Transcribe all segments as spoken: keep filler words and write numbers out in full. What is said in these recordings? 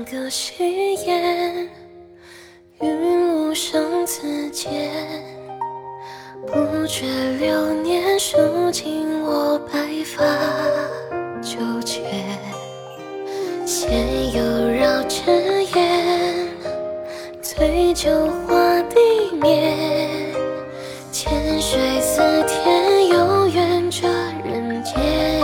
个誓言，云雾生自见，不觉流年数尽我白发纠结，闲游绕枝烟，醉酒话地面，千水似天，悠远这人间。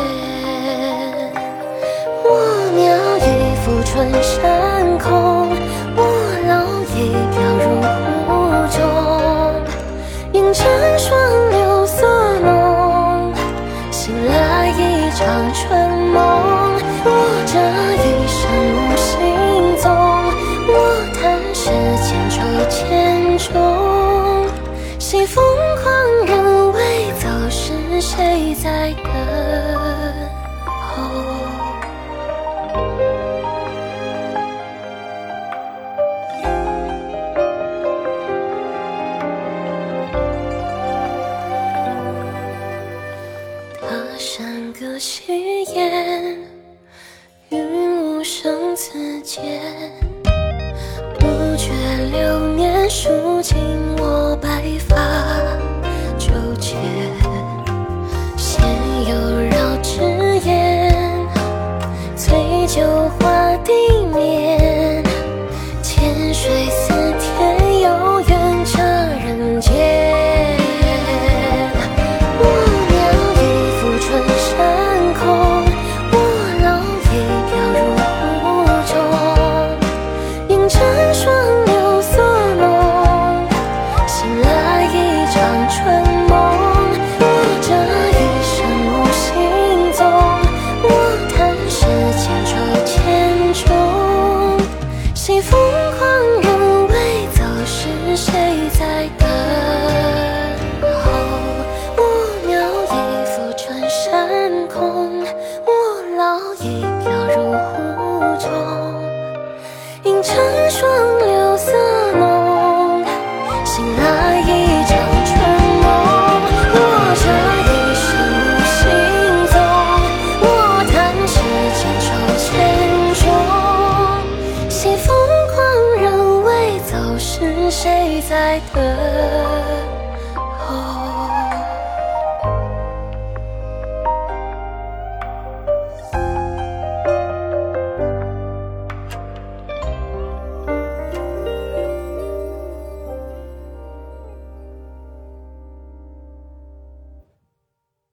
我鸟已赴春山空，我老已飘入湖中，映成双流所弄，醒来一场春梦。我这一生无行踪，我叹世间愁千种，西风狂人未走时，谁在等候？他山隔誓言，云雾生自见，不觉流年数尽我白发纠结，闲游绕枝烟，醉酒话